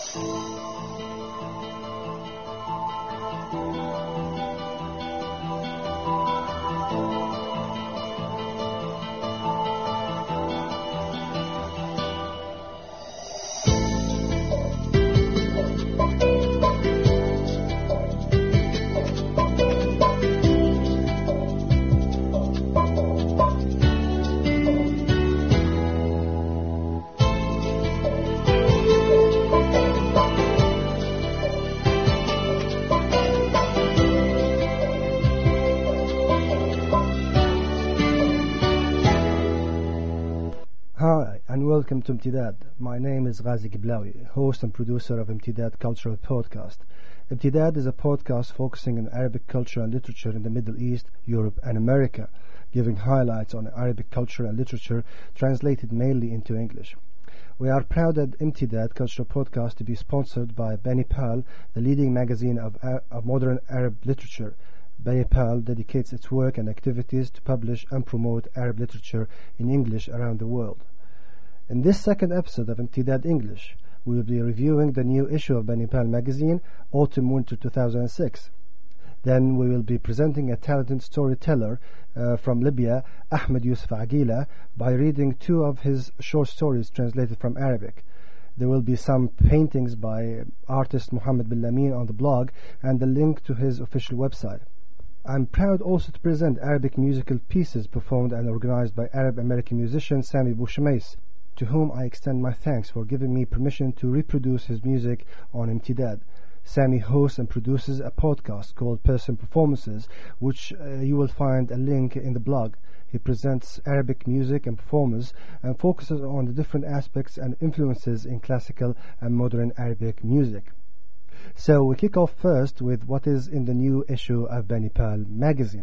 Hi, and welcome to Imtidad. My name is Ghazi Giblawi, host and producer of Imtidad Cultural Podcast. Imtidad is a podcast focusing on Arabic culture and literature in the Middle East, Europe, and America, giving highlights on Arabic culture and literature translated mainly into English. We are proud at Imtidad Cultural Podcast to be sponsored by Banipal, the leading magazine of modern Arab literature. Banipal dedicates its work and activities to publish and promote Arab literature in English around the world. In this second episode of Imtidad English, we will be reviewing the new issue of Banipal magazine, Autumn-Winter 2006. Then we will be presenting a talented storyteller from Libya, Ahmed Yusuf Aguila, by reading two of his short stories translated from Arabic. There will be some paintings by artist Mohammed Bin Lamin on the blog and a link to his official website. I'm proud also to present Arabic musical pieces performed and organized by Arab-American musician Sami Bouchemais, to whom I extend my thanks for giving me permission to reproduce his music on Imtidad. Sami hosts and produces a podcast called Person Performances, which you will find a link in the blog. He presents Arabic music and performers and focuses on the different aspects and influences in classical and modern Arabic music. So we kick off first with what is in the new issue of Banipal magazine.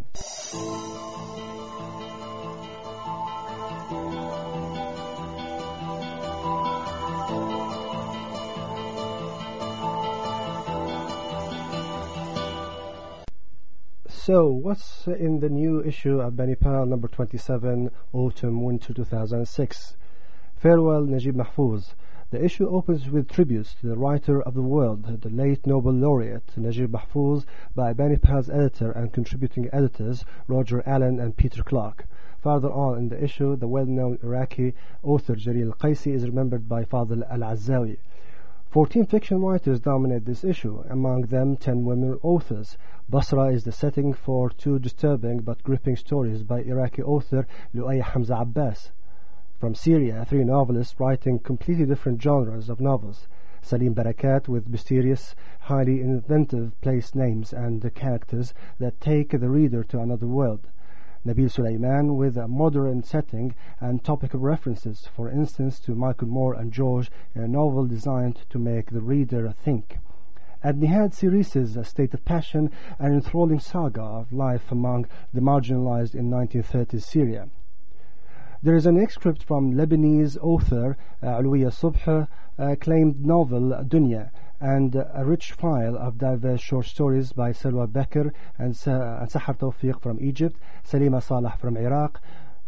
So, what's in the new issue of Banipal number 27, Autumn-Winter 2006? Farewell, Najib Mahfouz. The issue opens with tributes to the writer of the world, the late Nobel laureate Najib Mahfouz, by Banipal's editor and contributing editors Roger Allen and Peter Clark. Further on in the issue, the well-known Iraqi author Jalil Qaisi is remembered by Fadl Al-Azzawi. 14 fiction writers dominate this issue, among them 10 women authors. Basra is the setting for two disturbing but gripping stories by Iraqi author Lu'ay Hamza Abbas. From Syria, 3 novelists writing completely different genres of novels. Salim Barakat with mysterious, highly inventive place names and characters that take the reader to another world. Nabil Sulaiman with a modern setting and topical references, for instance to Michael Moore and George, in a novel designed to make the reader think. And Nihad Siris's A State of Passion, an enthralling saga of life among the marginalized in 1930s Syria. There is an excerpt from Lebanese author Alwiya Subh acclaimed novel Dunya, and a rich file of diverse short stories by Salwa Bakr and Sahar Tawfiq from Egypt, Salima Salah from Iraq,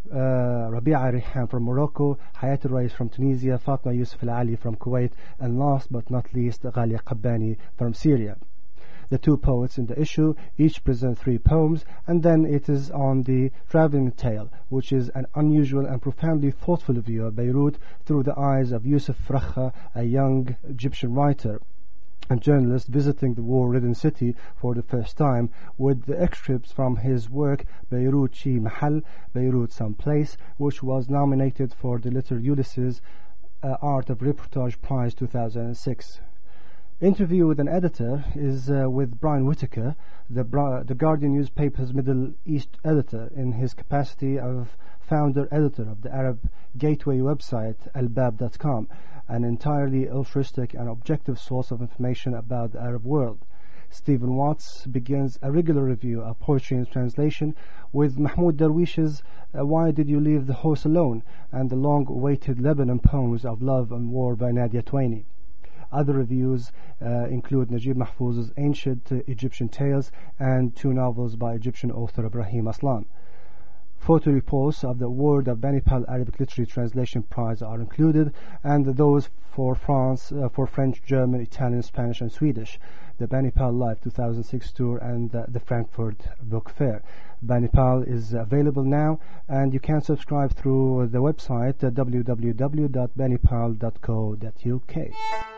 Rabi'a Rihan from Morocco, Hayat al-Rais from Tunisia, Fatma Yusuf al-Ali from Kuwait, and last but not least Ghalia Qabbani from Syria. The two poets in the issue each present 3 poems, and then it is on the traveling tale, which is an unusual and profoundly thoughtful view of Beirut through the eyes of Yusuf Rakha, a young Egyptian writer and journalist visiting the war-ridden city for the first time, with the excerpts from his work Beirut Chi Mahal, Beirut Someplace, which was nominated for the Little Ulysses Art of Reportage Prize 2006. Interview with an editor is with Brian Whitaker, the Guardian newspaper's Middle East editor, in his capacity of founder-editor of the Arab gateway website albab.com, an entirely altruistic and objective source of information about the Arab world. Stephen Watts begins a regular review of poetry in translation with Mahmoud Darwish's Why Did You Leave the Horse Alone, and the long-awaited Lebanon poems of love and war by Nadia Twaini. Other reviews include Najib Mahfouz's Ancient Egyptian Tales and 2 novels by Egyptian author Ibrahim Aslan. Photo reposts of the Word of Banipal Arabic Literary Translation Prize are included, and those for France, for French, German, Italian, Spanish, and Swedish, the Banipal Live 2006 tour, and the Frankfurt Book Fair. Banipal is available now, and you can subscribe through the website www.banipal.co.uk.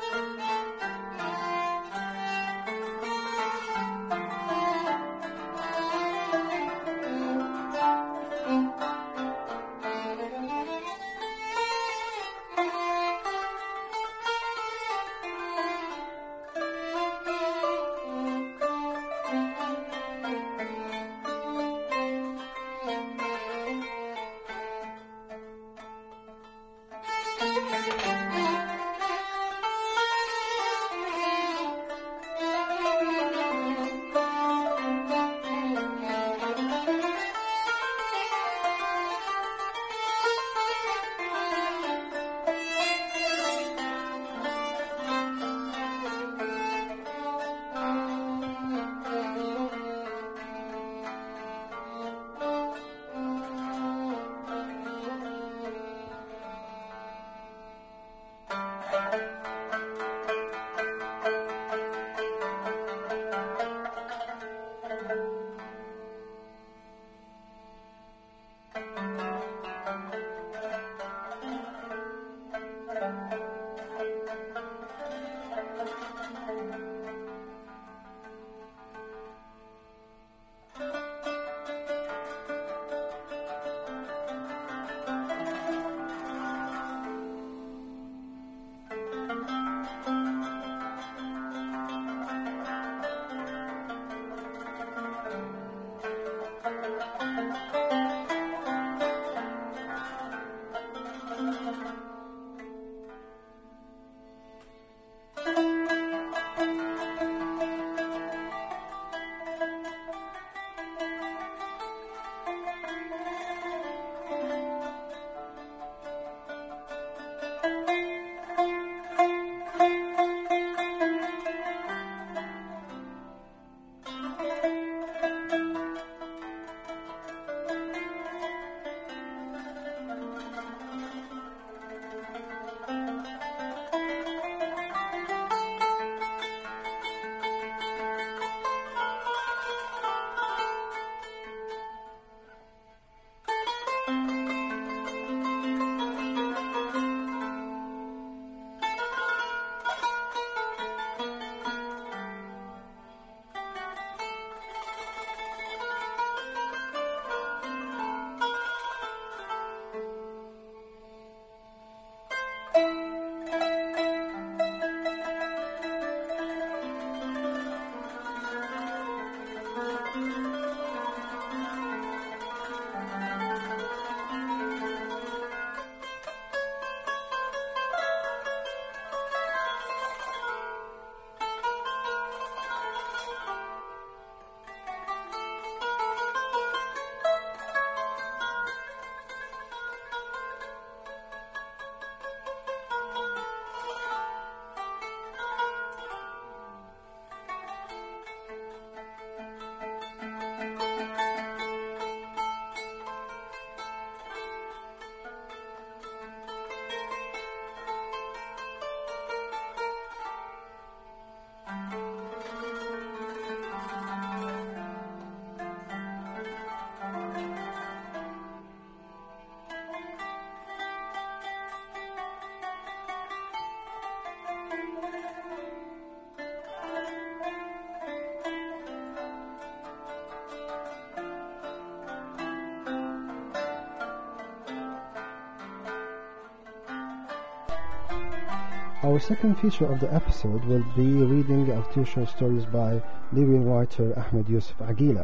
Our second feature of the episode will be a reading of two short stories by Libyan writer Ahmed Yusuf Aguila.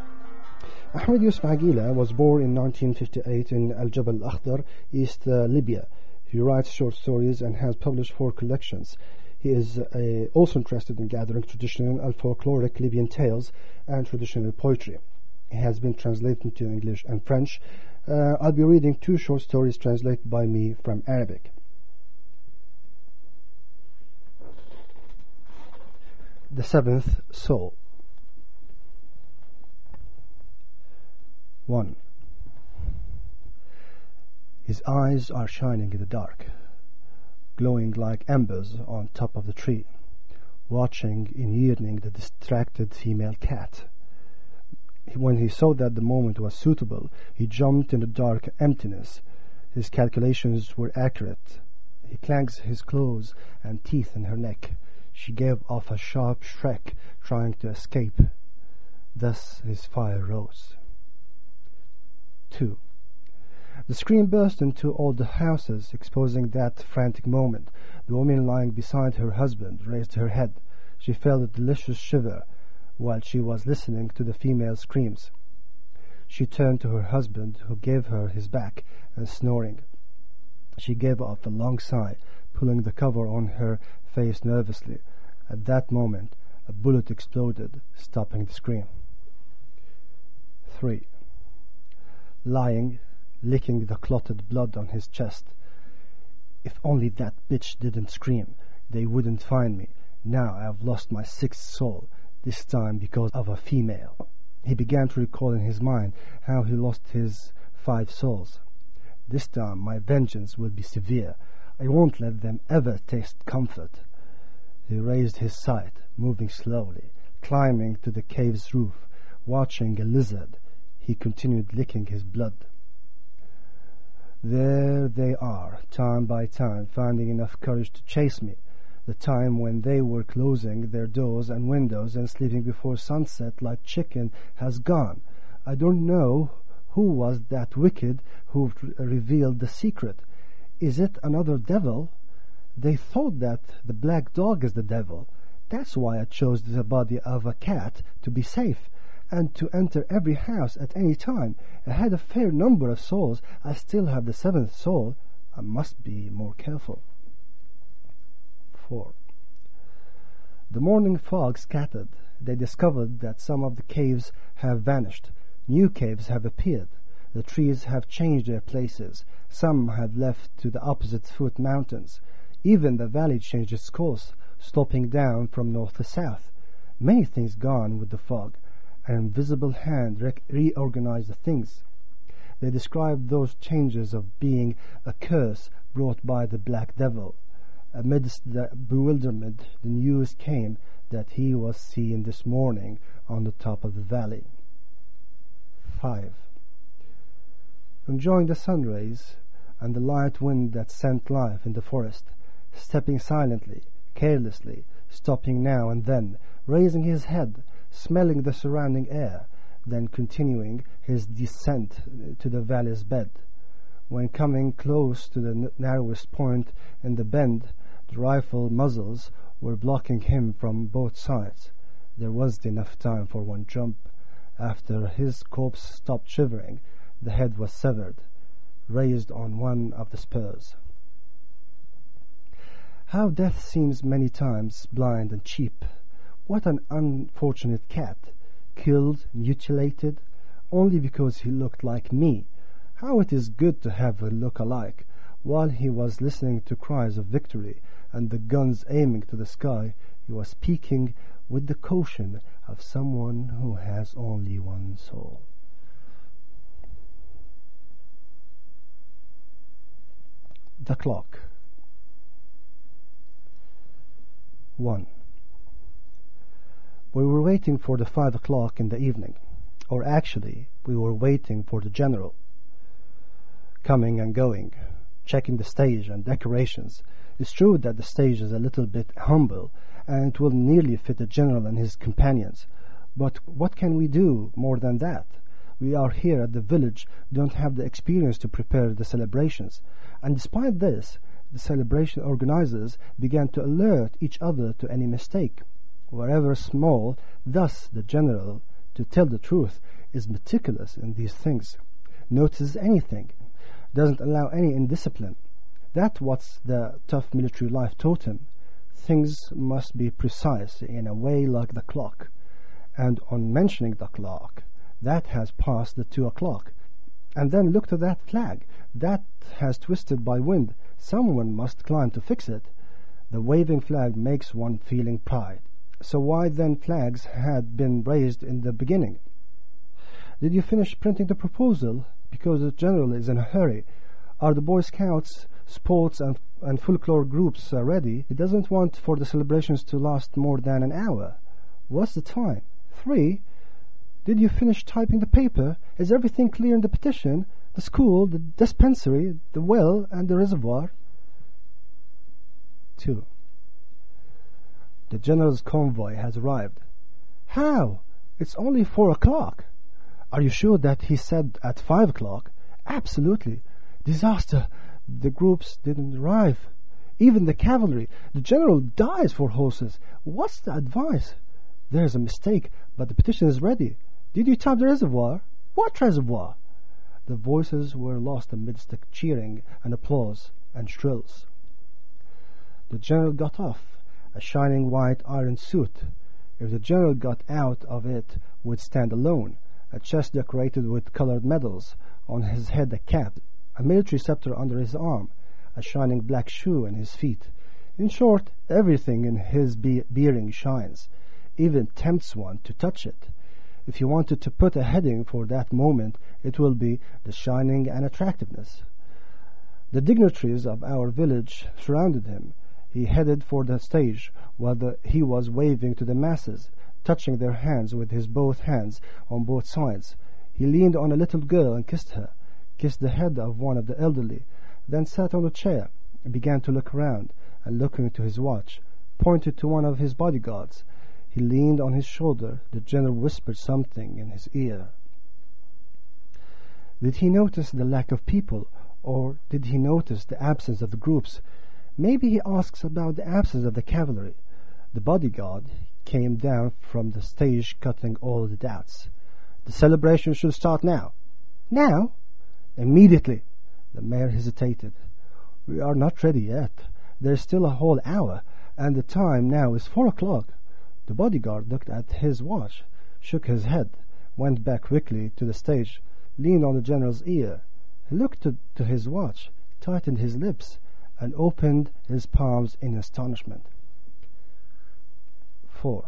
Ahmed Yusuf Aguila was born in 1958 in Al Jabal Akhdar, East Libya. He writes short stories and has published 4 collections. He is also interested in gathering traditional and folkloric Libyan tales and traditional poetry. He has been translated into English and French. I'll be reading 2 short stories translated by me from Arabic. The Seventh Soul. 1. His eyes are shining in the dark, glowing like embers on top of the tree, watching in yearning the distracted female cat. When he saw that the moment was suitable, he jumped in the dark emptiness. His calculations were accurate. He clanks his claws and teeth in her neck. She gave off a sharp shriek, trying to escape. Thus his fire rose. 2. The scream burst into all the houses, exposing that frantic moment. The woman lying beside her husband raised her head. She felt a delicious shiver while she was listening to the female screams. She turned to her husband, who gave her his back and snoring. She gave off a long sigh, pulling the cover on her face nervously. At that moment, a bullet exploded, stopping the scream. 3. Lying, licking the clotted blood on his chest. If only that bitch didn't scream, they wouldn't find me. Now I've lost my sixth soul, this time because of a female. He began to recall in his mind how he lost his 5 souls. This time my vengeance will be severe. I won't let them ever taste comfort. He raised his sight, moving slowly, climbing to the cave's roof, watching a lizard. He continued licking his blood. There they are, time by time, finding enough courage to chase me. The time when they were closing their doors and windows and sleeping before sunset like chicken has gone. I don't know who was that wicked who revealed the secret. Is it another devil? They thought that the black dog is the devil. That's why I chose the body of a cat to be safe, and to enter every house at any time. I had a fair number of souls. I still have the 7th soul. I must be more careful. 4. The morning fog scattered. They discovered that some of the caves have vanished. New caves have appeared. The trees have changed their places. Some have left to the opposite foot mountains. Even the valley changed its course, sloping down from north to south. Many things gone with the fog. An invisible hand reorganized the things. They described those changes of being a curse brought by the black devil. Amidst the bewilderment, the news came that he was seen this morning on the top of the valley. 5. Enjoying the sun rays and the light wind that sent life in the forest, stepping silently, carelessly, stopping now and then, raising his head, smelling the surrounding air, then continuing his descent to the valley's bed. When coming close to the narrowest point in the bend, the rifle muzzles were blocking him from both sides. There wasn't enough time for one jump. After his corpse stopped shivering, the head was severed, raised on one of the spurs. How death seems many times blind and cheap. What an unfortunate cat, killed, mutilated, only because he looked like me. How it is good to have a look alike. While he was listening to cries of victory and the guns aiming to the sky, he was speaking with the caution of someone who has only one soul. The clock. 1. We were waiting for the 5 o'clock in the evening, or actually, we were waiting for the general. Coming and going, checking the stage and decorations. It's true that the stage is a little bit humble, and it will nearly fit the general and his companions. But what can we do more than that? We are here at the village, don't have the experience to prepare the celebrations. And despite this, the celebration organizers began to alert each other to any mistake, wherever small. Thus the general, to tell the truth, is meticulous in these things, notices anything, doesn't allow any indiscipline. That's what the tough military life taught him. Things must be precise in a way like the clock. And on mentioning the clock, that has passed the 2 o'clock. And then look to that flag. That has twisted by wind. Someone must climb to fix it. The waving flag makes one feeling pride. So why then flags had been raised in the beginning? Did you finish printing the proposal? Because the general is in a hurry. Are the Boy Scouts, sports and folklore groups ready? He doesn't want for the celebrations to last more than an hour. What's the time? 3. Did you finish typing the paper? Is everything clear in the petition? The school, the dispensary, the well, and the reservoir? 2. The general's convoy has arrived. How? It's only 4 o'clock. Are you sure that he said at 5 o'clock? Absolutely. Disaster. The groups didn't arrive. Even the cavalry. The general dies for horses. What's the advice? There's a mistake, but the petition is ready. Did you type the reservoir? What reservoir? The voices were lost amidst the cheering and applause and shrills. The general got off, a shining white iron suit. If the general got out of it, would stand alone, a chest decorated with colored medals, on his head a cap, a military scepter under his arm, a shining black shoe in his feet. In short, everything in his bearing shines, even tempts one to touch it. If you wanted to put a heading for that moment, it will be the shining and attractiveness. The dignitaries of our village surrounded him. He headed for the stage, while he was waving to the masses, touching their hands with his both hands on both sides. He leaned on a little girl and kissed her, kissed the head of one of the elderly, then sat on a chair, began to look around, and looking to his watch, pointed to one of his bodyguards. He leaned on his shoulder. The general whispered something in his ear. Did he notice the lack of people, or did he notice the absence of the groups? Maybe he asks about the absence of the cavalry. The bodyguard came down from the stage, cutting all the doubts. The celebration should start now. Now? Immediately. The mayor hesitated. We are not ready yet. There is still a whole hour, and the time now is 4 o'clock. The bodyguard looked at his watch, shook his head, went back quickly to the stage, leaned on the general's ear. He looked to his watch, tightened his lips, and opened his palms in astonishment. 4.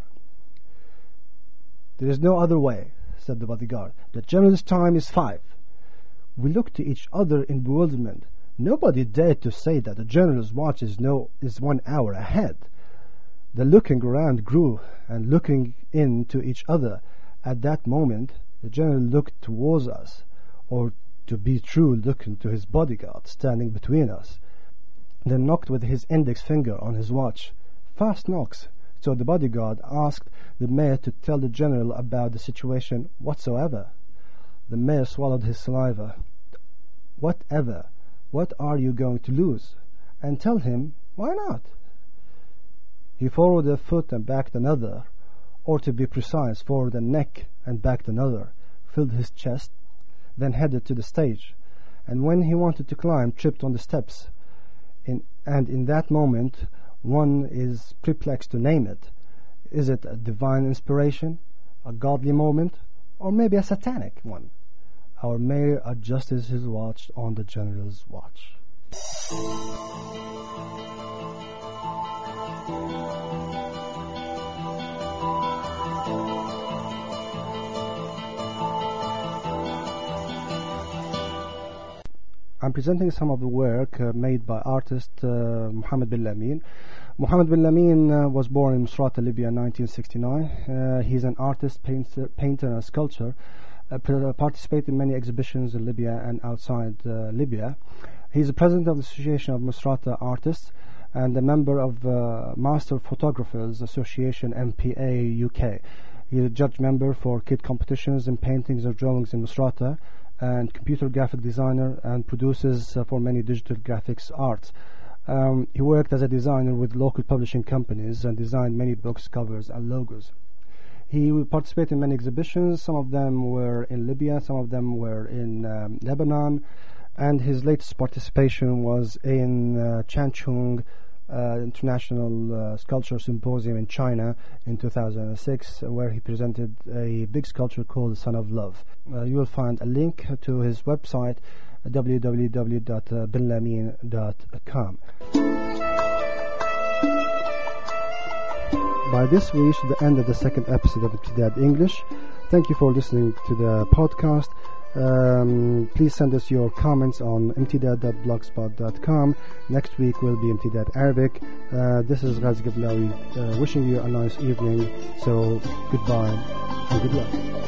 There is no other way, said the bodyguard. The general's time is 5. We looked to each other in bewilderment. Nobody dared to say that the general's watch is 1 hour ahead. The looking around grew, and looking into each other. At that moment, the general looked towards us, or to be true, looking to his bodyguard standing between us, then knocked with his index finger on his watch. Fast knocks. So the bodyguard asked the mayor to tell the general about the situation whatsoever. The mayor swallowed his saliva. Whatever? What are you going to lose? And tell him, why not? He forward a foot and backed another, or to be precise, forward a neck and backed another, filled his chest, then headed to the stage, and when he wanted to climb, tripped on the steps. And in that moment, one is perplexed to name it. Is it a divine inspiration, a godly moment, or maybe a satanic one? Our mayor adjusted his watch on the general's watch. I'm presenting some of the work made by artist Mohammed bin Lamin. Mohammed bin Lamin was born in Misrata, Libya in 1969. He's an artist, painter and sculptor. Participated in many exhibitions in Libya and outside Libya. He's the president of the Association of Misrata Artists and a member of Master Photographers Association MPA UK. He's a judge member for kid competitions in paintings or drawings in Misrata, and computer graphic designer, and produces for many digital graphics arts. He worked as a designer with local publishing companies and designed many books, covers and logos. He participated in many exhibitions. Some of them were in Libya, some of them were in Lebanon, and his latest participation was in Changchun International Sculpture Symposium in China in 2006, where he presented a big sculpture called The Son of Love. You will find a link to his website, www.binlamin.com. By this, we reach the end of the second episode of Ibtidad English. Thank you for listening to the podcast. Please send us your comments on mtdad.blogspot.com. Next week will be Mtdad Arabic. This is Ghazi Gablawi wishing you a nice evening. So goodbye and good luck.